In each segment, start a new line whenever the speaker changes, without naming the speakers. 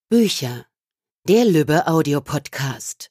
Bücher, der Lübbe Audio-Podcast.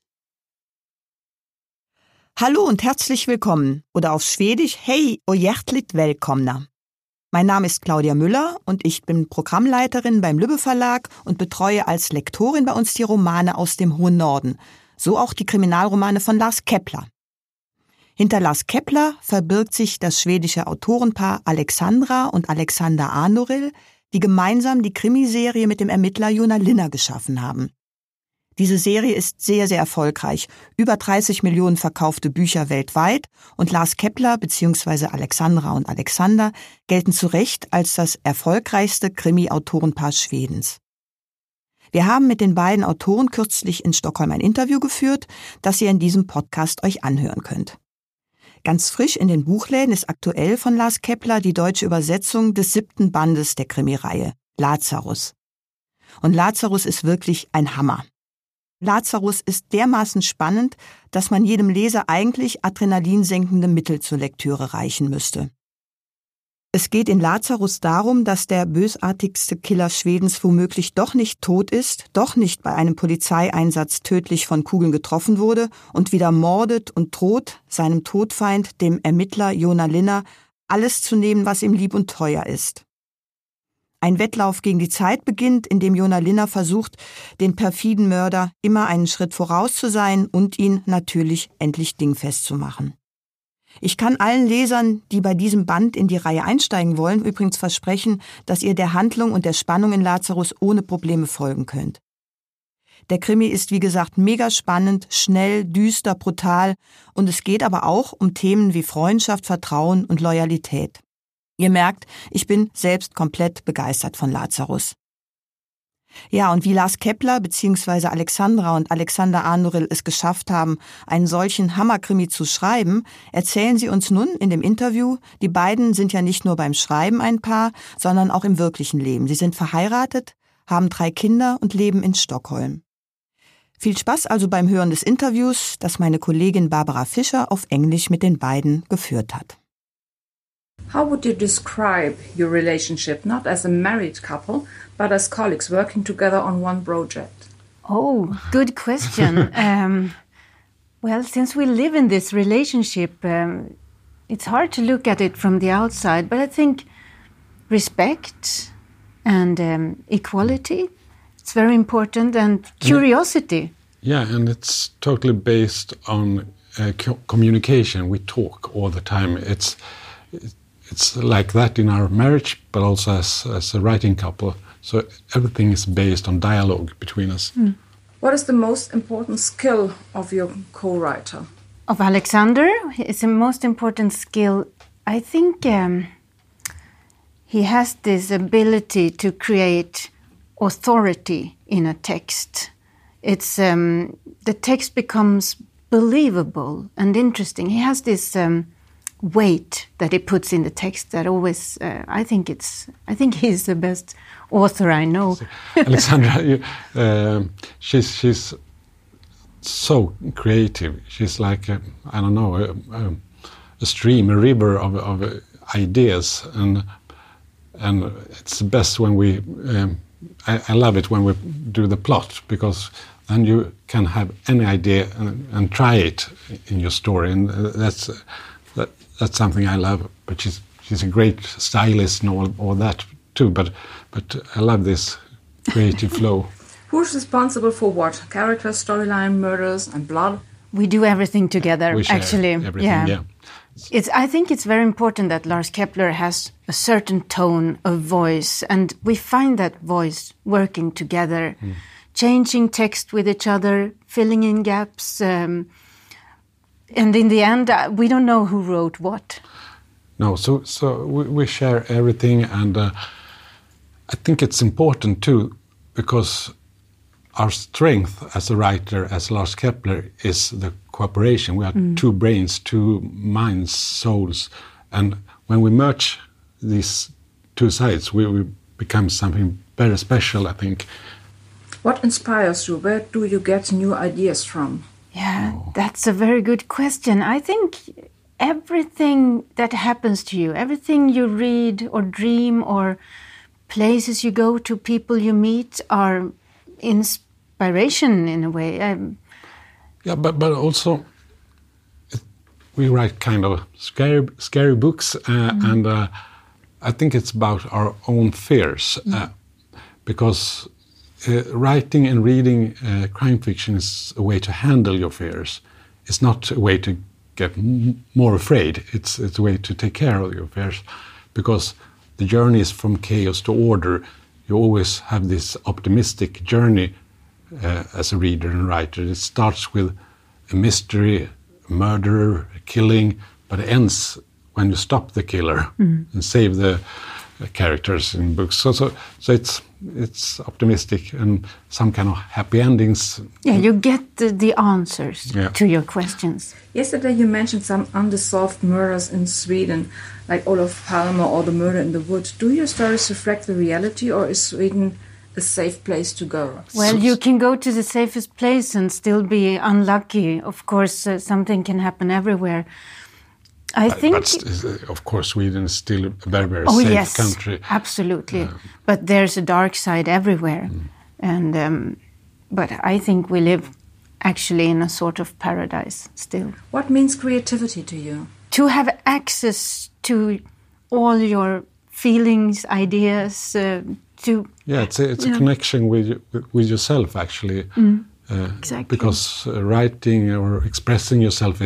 Hallo und herzlich willkommen, oder auf Schwedisch Hej och hjärtligt välkomna. Mein Name ist Claudia Müller und ich bin Programmleiterin beim Lübbe Verlag und betreue als Lektorin bei uns die Romane aus dem hohen Norden, so auch die Kriminalromane von Lars Kepler. Hinter Lars Kepler verbirgt sich das schwedische Autorenpaar Alexandra und Alexander Arnoril, die gemeinsam die Krimiserie mit dem Ermittler Joona Linna geschaffen haben. Diese Serie ist sehr, sehr erfolgreich. Über 30 Millionen verkaufte Bücher weltweit und Lars Kepler bzw. Alexandra und Alexander gelten zu Recht als das erfolgreichste Krimi-Autorenpaar Schwedens. Wir haben mit den beiden Autoren kürzlich in Stockholm ein Interview geführt, das ihr in diesem Podcast euch anhören könnt. Ganz frisch in den Buchläden ist aktuell von Lars Kepler die deutsche Übersetzung des 7. Bandes der Krimireihe, Lazarus. Und Lazarus ist wirklich ein Hammer. Lazarus ist dermaßen spannend, dass man jedem Leser eigentlich adrenalinsenkende Mittel zur Lektüre reichen müsste. Es geht in Lazarus darum, dass der bösartigste Killer Schwedens womöglich doch nicht tot ist, doch nicht bei einem Polizeieinsatz tödlich von Kugeln getroffen wurde und wieder mordet und droht, seinem Todfeind, dem Ermittler Joona Linna, alles zu nehmen, was ihm lieb und teuer ist. Ein Wettlauf gegen die Zeit beginnt, in dem Joona Linna versucht, den perfiden Mörder immer einen Schritt voraus zu sein und ihn natürlich endlich dingfest zu machen. Ich kann allen Lesern, die bei diesem Band in die Reihe einsteigen wollen, übrigens versprechen, dass ihr der Handlung und der Spannung in Lazarus ohne Probleme folgen könnt. Der Krimi ist, wie gesagt, mega spannend, schnell, düster, brutal und es geht aber auch um Themen wie Freundschaft, Vertrauen und Loyalität. Ihr merkt, ich bin selbst komplett begeistert von Lazarus. Ja, und wie Lars Kepler bzw. Alexandra und Alexander Arnoril es geschafft haben, einen solchen Hammerkrimi zu schreiben, erzählen sie uns nun in dem Interview. Die beiden sind ja nicht nur beim Schreiben ein Paar, sondern auch im wirklichen Leben. Sie sind verheiratet, haben 3 Kinder und leben in Stockholm. Viel Spaß also beim Hören des Interviews, das meine Kollegin Barbara Fischer auf Englisch mit den beiden geführt hat.
How would you describe your relationship, not as a married couple, but as colleagues working together on one project?
Oh, good question. Well, since we live in this relationship, it's hard to look at it from the outside, but I think respect and equality, it's very important, and curiosity.
Yeah, and it's totally based on communication. We talk all the time. It's like that in our marriage, but also as a writing couple. So everything is based on dialogue between us. Mm.
What is the most important skill of your co-writer?
Of Alexander, it's the most important skill. I think he has this ability to create authority in a text. It's the text becomes believable and interesting. He has this weight that he puts in the text that always I think he's the best author I know.
Alexandra, she's so creative. She's like a stream, a river of ideas, and it's the best when we. I love it when we do the plot, because then you can have any idea and try it in your story, and that's something I love. But she's a great stylist and all that too. But I love this creative flow.
Who's responsible for what? Character, storyline, murders, and blood?
We do everything together.
We share
actually,
everything, yeah.
I think it's very important that Lars Kepler has a certain tone of voice, and we find that voice working together, changing text with each other, filling in gaps. And in the end, we don't know who wrote what.
No, so we share everything, and I think it's important too, because our strength as a writer, as Lars Kepler, is the cooperation. We are 2 brains, 2 minds, souls, and when we merge these 2 sides, we become something very special, I think.
What inspires you? Where do you get new ideas from?
Yeah, that's a very good question. I think everything that happens to you, everything you read or dream or places you go to, people you meet, are inspiration in a way.
Yeah, but also we write kind of scary books, and I think it's about our own fears, because writing and reading crime fiction is a way to handle your fears. It's not a way to get more afraid. It's a way to take care of your fears, because the journey is from chaos to order. You always have this optimistic journey as a reader and writer. It starts with a mystery, a murderer, a killing, but it ends when you stop the killer and save the characters in books. So it's optimistic and some kind of happy endings.
Yeah, you get the answers to your questions.
Yesterday you mentioned some unsolved murders in Sweden, like Olof Palme or the murder in the woods. Do your stories reflect the reality, or is Sweden a safe place to go?
Well, you can go to the safest place and still be unlucky. Of course, something can happen everywhere. I think,
but of course, Sweden is still a very, very safe country.
Absolutely. But there's a dark side everywhere, and but I think we live actually in a sort of paradise still.
What means creativity to you?
To have access to all your feelings, ideas.
It's a connection with yourself, actually.
Exactly.
Because writing or expressing yourself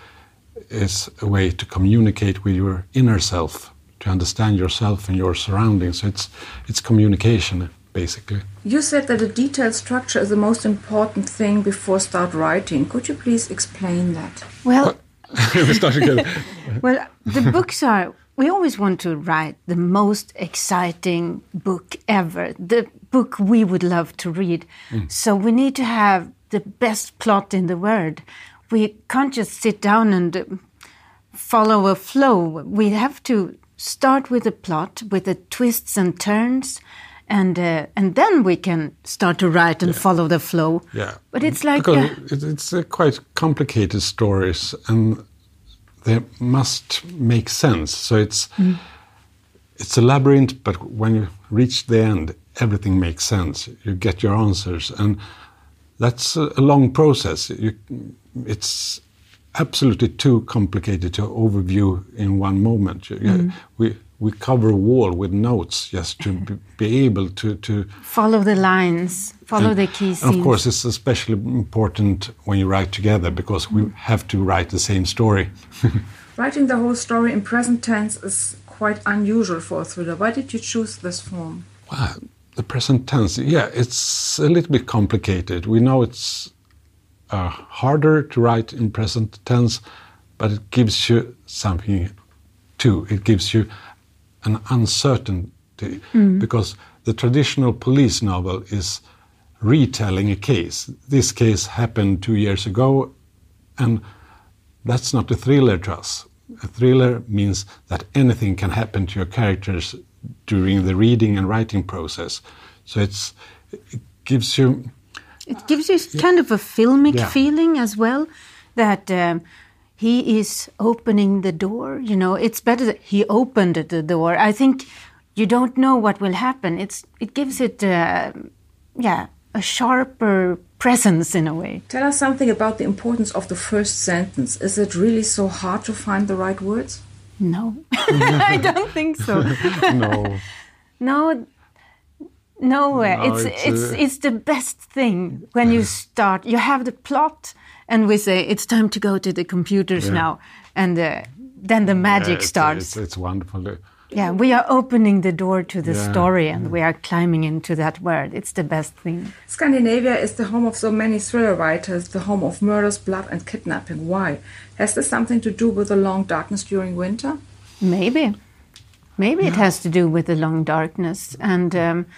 is a way to communicate with your inner self, to understand yourself and your surroundings. So it's communication, basically.
You said that a detailed structure is the most important thing before start writing. Could you please explain that?
Well,
we start again.
Well, the books are... We always want to write the most exciting book ever, the book we would love to read. So we need to have the best plot in the world. We can't just sit down and follow a flow. We have to start with a plot, with the twists and turns, and then we can start to write and follow the flow.
Yeah,
but it's like
it's quite complicated stories, and they must make sense. So it's a labyrinth, but when you reach the end, everything makes sense. You get your answers, and that's a long process. It's absolutely too complicated to overview in one moment. We cover a wall with notes just to be able to
follow the lines, follow the key scenes.
And of course, it's especially important when you write together, because we have to write the same story.
Writing the whole story in present tense is quite unusual for a thriller. Why did you choose this form?
Well, the present tense, it's a little bit complicated. We know it's harder to write in present tense, but it gives you something too. It gives you an uncertainty, because the traditional police novel is retelling a case. This case happened 2 years ago, and that's not a thriller to us. A thriller means that anything can happen to your characters during the reading and writing process. So it gives you...
It gives you kind of a filmic feeling as well, that he is opening the door. You know, it's better that he opened the door. I think you don't know what will happen. It gives it, a sharper presence in a way.
Tell us something about the importance of the first sentence. Is it really so hard to find the right words?
No, I don't think so. No, it's the best thing when you start. You have the plot, and we say it's time to go to the computers now, and then the magic starts.
It's wonderful.
Yeah, we are opening the door to the story, and we are climbing into that world. It's the best thing.
Scandinavia is the home of so many thriller writers, the home of murders, blood, and kidnapping. Why? Has this something to do with the long darkness during winter?
Maybe it has to do with the long darkness and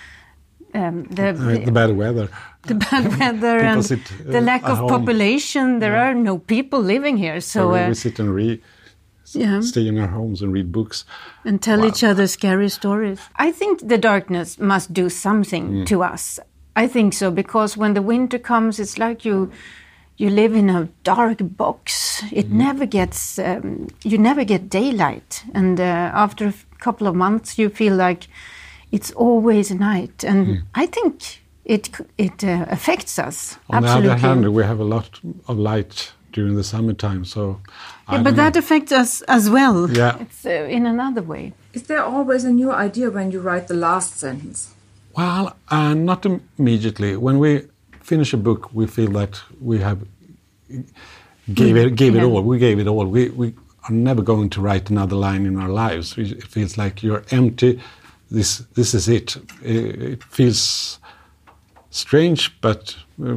the bad weather.
The bad weather and the lack of population. There are no people living here, so
we sit and stay in our homes and read books
and tell each other scary stories. I think the darkness must do something to us. I think so, because when the winter comes, it's like you live in a dark box. It never gets you never get daylight, and after a couple of months, you feel like it's always night. And I think it affects us.
On
absolutely.
the other hand, we have a lot of light during the summertime, so
but that affects us as well.
Yeah.
It's in another way.
Is there always a new idea when you write the last sentence?
Well, not immediately. When we finish a book, we feel that we have gave it all. We gave it all. We are never going to write another line in our lives. It feels like you're empty. This is it. It feels strange, but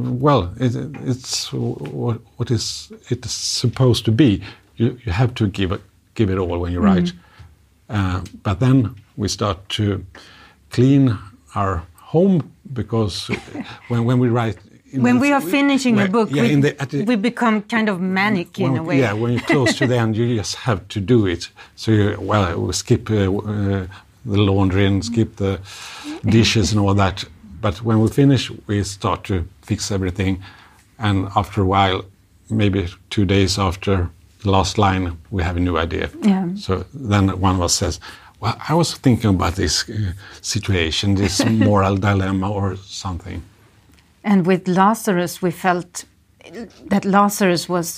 it's what is it is supposed to be. You have to give it all when you write. But then we start to clean our home, because when we write,
when we are finishing a book, we become kind of manic in a way.
Yeah, when you're close to the end, you just have to do it. So we skip the laundry and skip the dishes and all that. But when we finish, we start to fix everything. And after a while, maybe 2 days after the last line, we have a new idea.
Yeah.
So then one of us says, well, I was thinking about this situation, this moral dilemma or something.
And with Lazarus, we felt that Lazarus was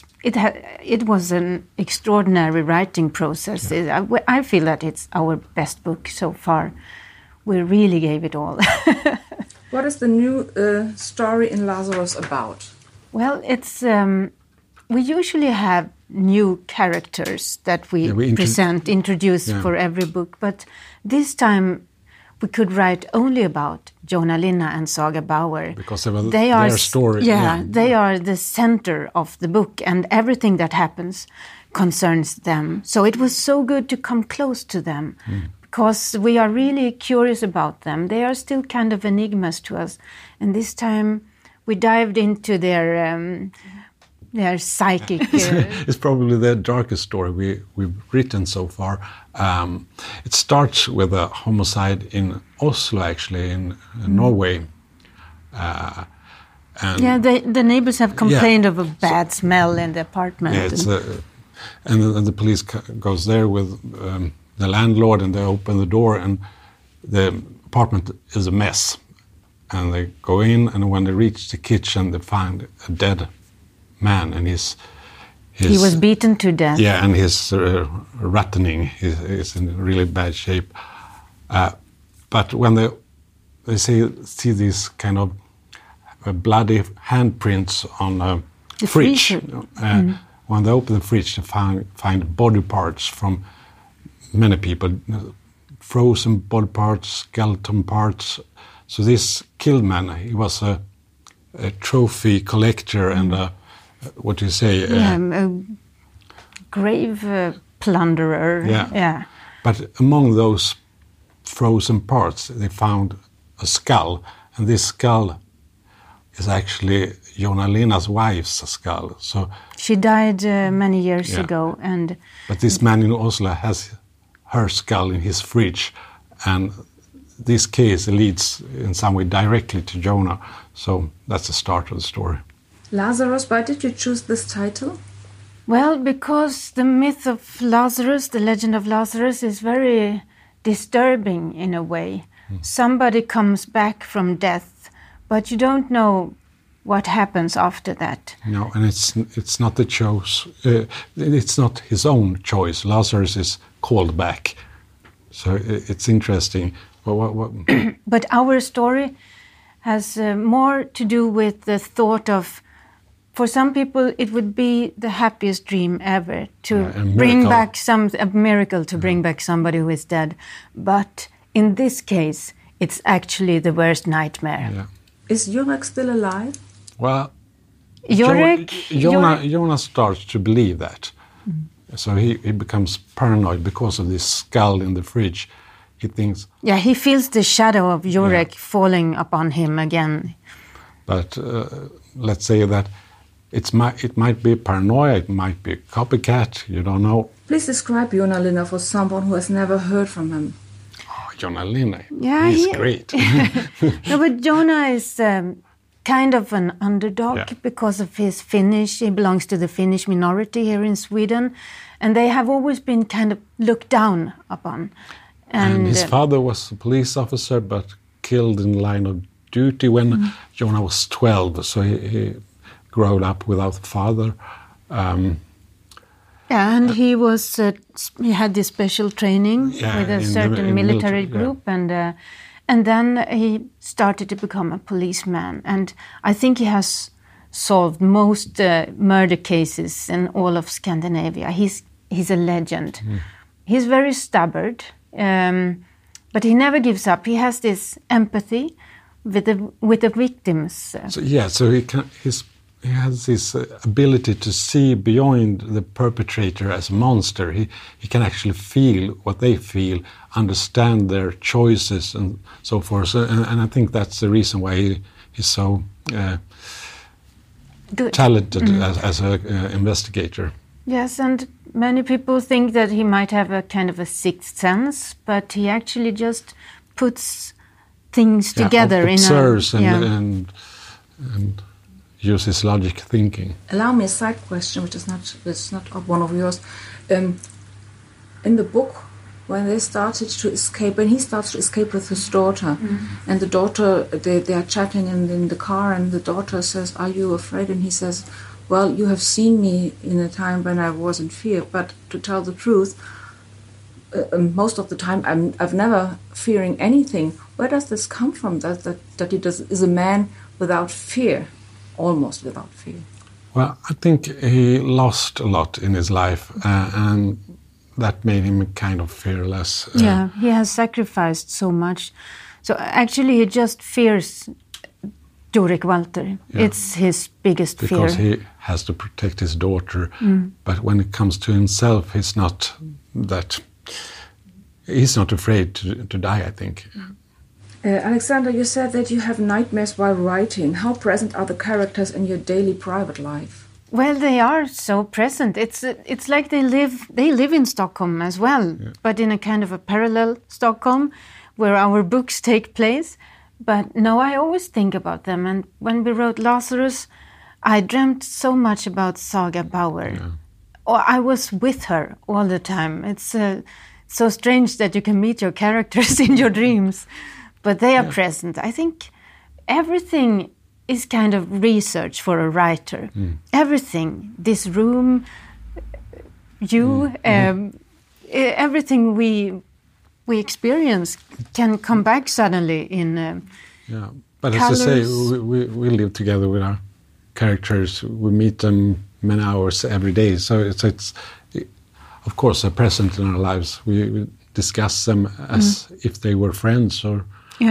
an extraordinary writing process.
Yeah.
I feel that it's our best book so far. We really gave it all.
What is the new story in Lazarus about?
Well, it's we usually have new characters that we introduce for every book, but this time we could write only about Jonah Linna and Saga Bauer.
Because of their story.
They are the center of the book, and everything that happens concerns them. So it was so good to come close to them, because we are really curious about them. They are still kind of enigmas to us. And this time we dived into their psychic...
It's probably the darkest story we've written so far. It starts with a homicide in Oslo, actually, in Norway.
The neighbors have complained of a bad smell in the apartment.
Yeah, and the police goes there with the landlord, and they open the door, and the apartment is a mess. And they go in, and when they reach the kitchen, they find a dead man, and he was
beaten to death.
Yeah, and his rattening is in really bad shape. But when they see these kind of bloody handprints on the fridge, when they open the fridge, they find body parts from many people, frozen body parts, skeleton parts. So this killed man, he was a trophy collector and a
grave plunderer. Yeah.
But among those frozen parts, they found a skull, and this skull is actually Jonah Linna's wife's skull. So
she died many years ago,
but this man in Oslo has her skull in his fridge, and this case leads in some way directly to Jonah. So that's the start of the story.
Lazarus, why did you choose this title?
Well, because the myth of Lazarus, the legend of Lazarus, is very disturbing in a way. Somebody comes back from death, but you don't know what happens after that.
No, and it's not the choice. It's not his own choice. Lazarus is called back, so it's interesting.
But our story has more to do with the thought of, for some people, it would be the happiest dream ever to bring back a miracle to bring back somebody who is dead. But in this case, it's actually the worst nightmare.
Yeah.
Is Jurek still alive?
Well,
Jonah
Jonah starts to believe that. So he becomes paranoid because of this skull in the fridge. He thinks...
Yeah, he feels the shadow of Jurek falling upon him again.
But let's say that it might be paranoia, it might be a copycat, you don't know.
Please describe Jonah Linna for someone who has never heard from him.
Oh, Jonah Linna,
he's
great.
No, but Jonah is kind of an underdog because of his Finnish. He belongs to the Finnish minority here in Sweden, and they have always been kind of looked down upon.
And his father was a police officer, but killed in the line of duty when Jonah was 12, so he grew up without a father.
And he was he had this special training with a certain military group, and then he started to become a policeman. And I think he has solved most murder cases in all of Scandinavia. He's a legend. He's very stubborn, but he never gives up. He has this empathy with the victims.
So he has this ability to see beyond the perpetrator as a monster. He can actually feel what they feel, understand their choices and so forth. So, and I think that's the reason why he's so talented as an investigator.
Yes, and many people think that he might have a kind of a sixth sense, but he actually just puts things together
observes and uses logic thinking.
Allow me a side question, which is not one of yours. In the book, when he starts to escape with his daughter, and the daughter, they are chatting in the car, and the daughter says, "Are you afraid?" And he says, "Well, you have seen me in a time when I was in fear, but to tell the truth, most of the time I've never fearing anything." Where does this come from? That he is a man without fear, almost without fear?
Well, I think he lost a lot in his life, and that made him kind of fearless.
He has sacrificed so much. So actually he just fears Jorik Walter. Yeah. It's his biggest fear.
Because he has to protect his daughter. But when it comes to himself, he's not afraid to die, I think.
Alexander, you said that you have nightmares while writing. How present are the characters in your daily private life?
Well, they are so present. It's like they live in Stockholm as well, but in a kind of a parallel Stockholm where our books take place. But no, I always think about them. And when we wrote Lazarus, I dreamt so much about Saga Bauer. Yeah. Or I was with her all the time. It's so strange that you can meet your characters in your dreams, but they are present. I think everything is kind of research for a writer. Everything, this room, everything we experience can come back suddenly in
but
colors.
As I say, we live together with our characters. We meet them many hours every day, so it's of course they're present in our lives. We discuss them as if they were friends, or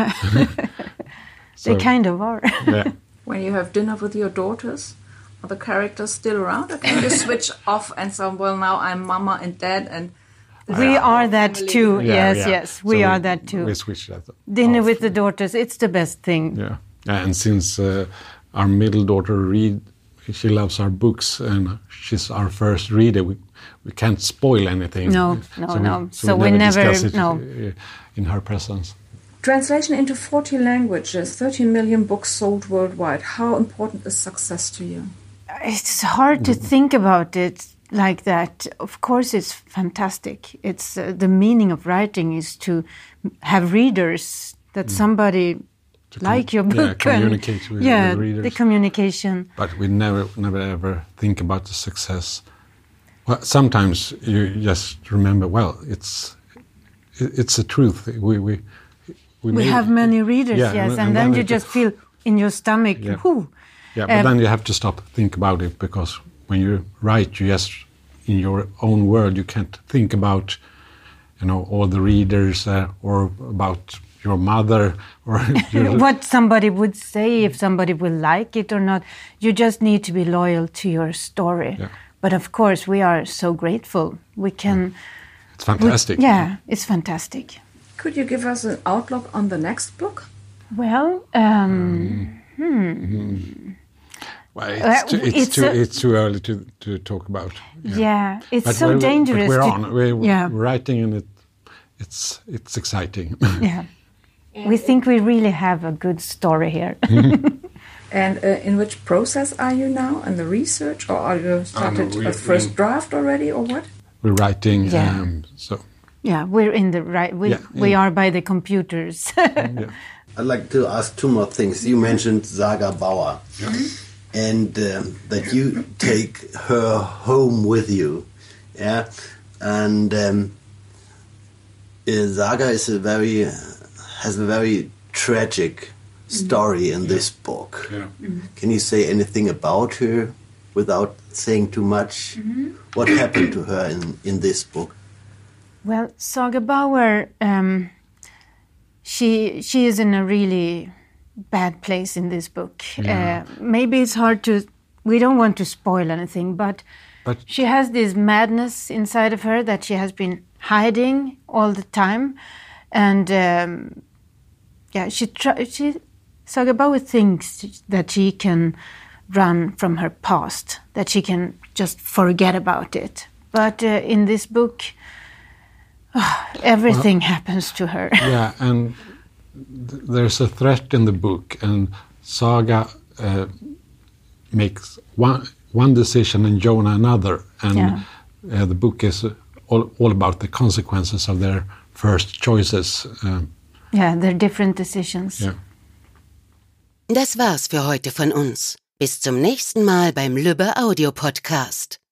they kind of are.
When you have dinner with your daughters, are the characters still around, or can you switch off and say, well, now I'm mama and dad and
we are that too. Yes, we are that too.
We switch that.
Dinner with the daughters, it's the best thing.
Yeah, and since our middle daughter she loves our books, and she's our first reader. We can't spoil anything.
No. So we never
discuss it in her presence.
Translation into 40 languages, 13 million books sold worldwide. How important is success to you?
It's hard to think about it like that. Of course, it's fantastic. It's the meaning of writing is to have readers, that somebody like your book.
Communicate with the readers.
The communication.
But we never ever think about the success. Well, sometimes you just remember, well, it's the truth. We
have many readers, and then you just feel in your stomach, whoo.
Yeah, but then you have to stop, think about it, because when you write, you just, in your own world, you can't think about, all the readers or about your mother or
what somebody would say, if somebody will like it or not. You just need to be loyal to your story. Yeah. But of course, we are so grateful. We can.
It's fantastic.
It's fantastic.
Could you give us an outlook on the next book?
Well,
well, it's too early to talk about.
Yeah, it's but so dangerous.
But we're writing, and it's exciting.
Yeah, we think we really have a good story here.
And in which process are you now? In the research, or are you started a first draft already, or what?
We're writing.
Yeah, we're in the right. We are by the computers.
I'd like to ask two more things. You mentioned Saga Bauer, and that you take her home with you, yeah. And Saga is has a very tragic story in this book.
Yeah.
Can you say anything about her without saying too much? What happened to her in this book?
Well, Saga Bauer, she is in a really bad place in this book.
Yeah.
Maybe it's hard to... We don't want to spoil anything, but she has this madness inside of her that she has been hiding all the time. And Saga Bauer thinks that she can run from her past, that she can just forget about it. But in this book... everything happens to her.
Yeah, and there's a threat in the book, and Saga makes one decision and Jonah another, and the book is all about the consequences of their first choices.
Their different decisions.
Yeah.
Das war's für heute von uns. Bis zum nächsten Mal beim Lübbe Audio Podcast.